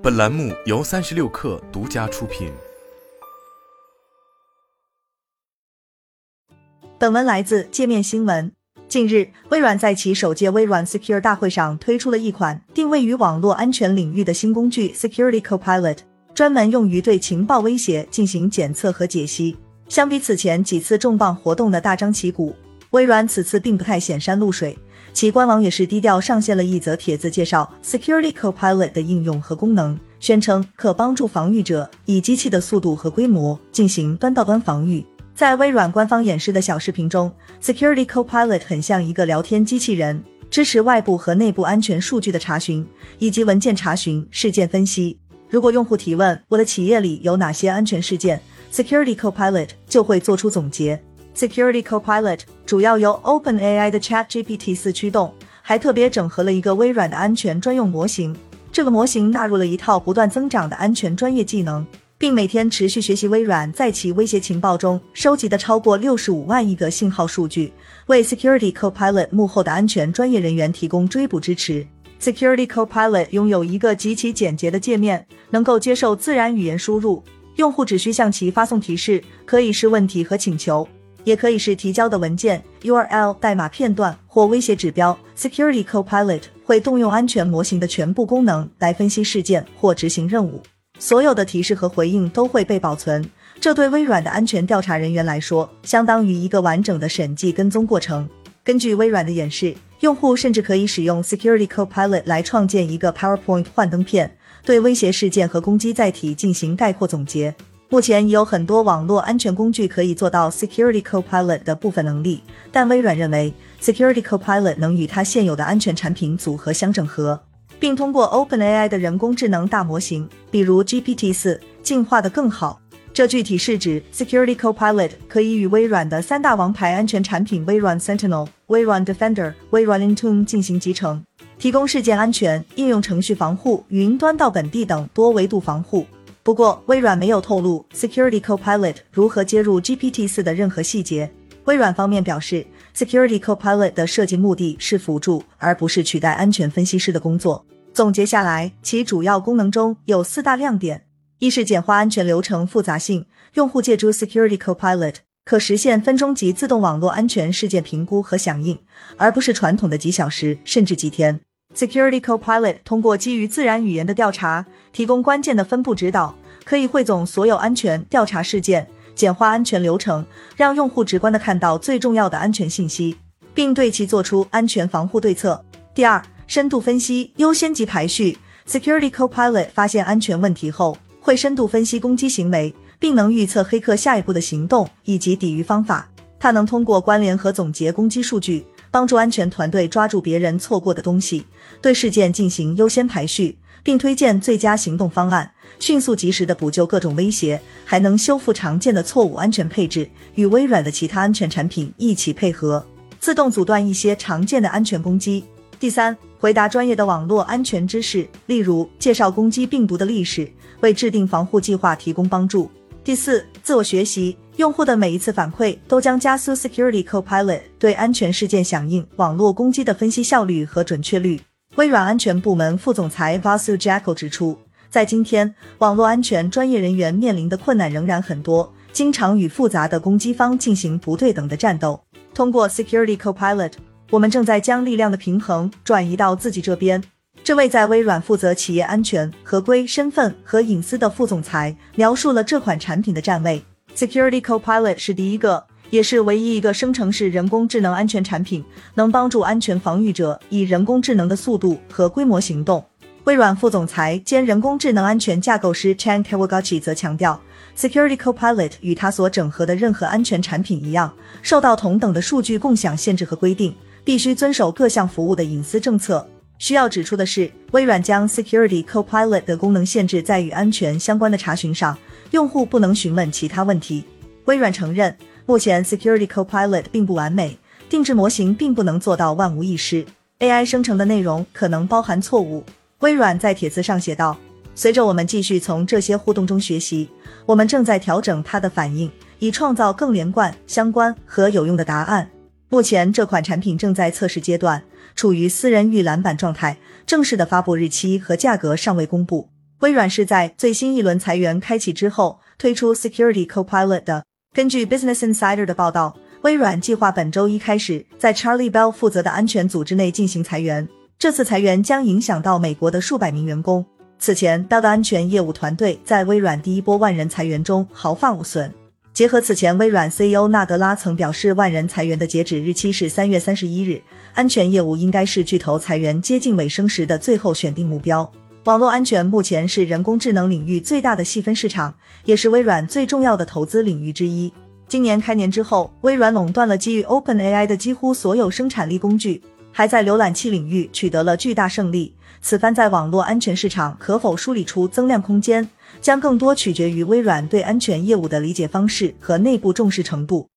本栏目由36氪独家出品。 本文来自界面新闻。近日，微软在其首届微软 Secure 大会上推出了一款定位于网络安全领域的新工具 Security Copilot， 专门用于对情报威胁进行检测和解析。相比此前几次重磅活动的大张旗鼓，微软此次并不太显山露水，其官网也是低调上线了一则帖子，介绍 Security Copilot 的应用和功能，宣称可帮助防御者以机器的速度和规模进行端到端防御。在微软官方演示的小视频中， Security Copilot 很像一个聊天机器人，支持外部和内部安全数据的查询，以及文件查询、事件分析。如果用户提问我的企业里有哪些安全事件， Security Copilot 就会做出总结。Security Copilot 主要由 OpenAI 的 ChatGPT-4 驱动，还特别整合了一个微软的安全专用模型。这个模型纳入了一套不断增长的安全专业技能，并每天持续学习微软在其威胁情报中收集的超过65万亿个信号数据，为 Security Copilot 幕后的安全专业人员提供追捕支持。Security Copilot 拥有一个极其简洁的界面，能够接受自然语言输入，用户只需向其发送提示，可以是问题和请求，也可以是提交的文件、URL、代码片段或威胁指标。Security Copilot 会动用安全模型的全部功能来分析事件或执行任务，所有的提示和回应都会被保存，这对微软的安全调查人员来说，相当于一个完整的审计跟踪过程。根据微软的演示，用户甚至可以使用 Security Copilot 来创建一个 PowerPoint 幻灯片，对威胁事件和攻击载体进行概括总结。目前已有很多网络安全工具可以做到 Security Copilot 的部分能力，但微软认为 Security Copilot 能与它现有的安全产品组合相整合，并通过 OpenAI 的人工智能大模型，比如 GPT-4 进化得更好。这具体是指 Security Copilot 可以与微软的三大王牌安全产品微软 Sentinel、微软 Defender、微软 Intune 进行集成，提供事件安全、应用程序防护、云端到本地等多维度防护。不过，微软没有透露 Security Copilot 如何接入 GPT-4 的任何细节。微软方面表示， Security Copilot 的设计目的是辅助，而不是取代安全分析师的工作。总结下来，其主要功能中有4大亮点。一是简化安全流程复杂性，用户借助 Security Copilot 可实现分钟级自动网络安全事件评估和响应，而不是传统的几小时甚至几天。Security Copilot 通过基于自然语言的调查，提供关键的分布指导，可以汇总所有安全调查事件，简化安全流程，让用户直观地看到最重要的安全信息，并对其做出安全防护对策。第二，深度分析优先级排序。 Security Copilot 发现安全问题后，会深度分析攻击行为，并能预测黑客下一步的行动以及抵御方法。它能通过关联和总结攻击数据，帮助安全团队抓住别人错过的东西，对事件进行优先排序，并推荐最佳行动方案，迅速及时地补救各种威胁，还能修复常见的错误安全配置，与微软的其他安全产品一起配合，自动阻断一些常见的安全攻击。第三，回答专业的网络安全知识，例如介绍攻击病毒的历史，为制定防护计划提供帮助。第四，自我学习，用户的每一次反馈都将加速 Security Copilot 对安全事件响应、网络攻击的分析效率和准确率。微软安全部门副总裁 Vasu Jackal 指出，在今天，网络安全专业人员面临的困难仍然很多，经常与复杂的攻击方进行不对等的战斗。通过 Security Copilot， 我们正在将力量的平衡转移到自己这边。这位在微软负责企业安全、合规、身份和隐私的副总裁描述了这款产品的站位。Security Copilot 是第一个，也是唯一一个生成式人工智能安全产品，能帮助安全防御者以人工智能的速度和规模行动。微软副总裁兼人工智能安全架构师 Chan Kawagachi 则强调， Security Copilot 与他所整合的任何安全产品一样，受到同等的数据共享限制和规定，必须遵守各项服务的隐私政策。需要指出的是，微软将 Security Copilot 的功能限制在与安全相关的查询上，用户不能询问其他问题。微软承认，目前 Security Copilot 并不完美，定制模型并不能做到万无一失， AI 生成的内容可能包含错误。微软在帖子上写道，随着我们继续从这些互动中学习，我们正在调整它的反应，以创造更连贯、相关和有用的答案。目前这款产品正在测试阶段，处于私人预览版状态，正式的发布日期和价格尚未公布。 微软是在最新一轮裁员开启之后推出 Security Copilot 的。根据 Business Insider 的报道，微软计划本周一开始在 Charlie Bell 负责的安全组织内进行裁员，这次裁员将影响到美国的数百名员工。此前 Bell 的安全业务团队在微软第一波万人裁员中毫发无损。结合此前微软 CEO 纳德拉曾表示万人裁员的截止日期是3月31日，安全业务应该是巨头裁员接近尾声时的最后选定目标。网络安全目前是人工智能领域最大的细分市场，也是微软最重要的投资领域之一。今年开年之后，微软垄断了基于 OpenAI 的几乎所有生产力工具，还在浏览器领域取得了巨大胜利。此番在网络安全市场可否梳理出增量空间，将更多取决于微软对安全业务的理解方式和内部重视程度。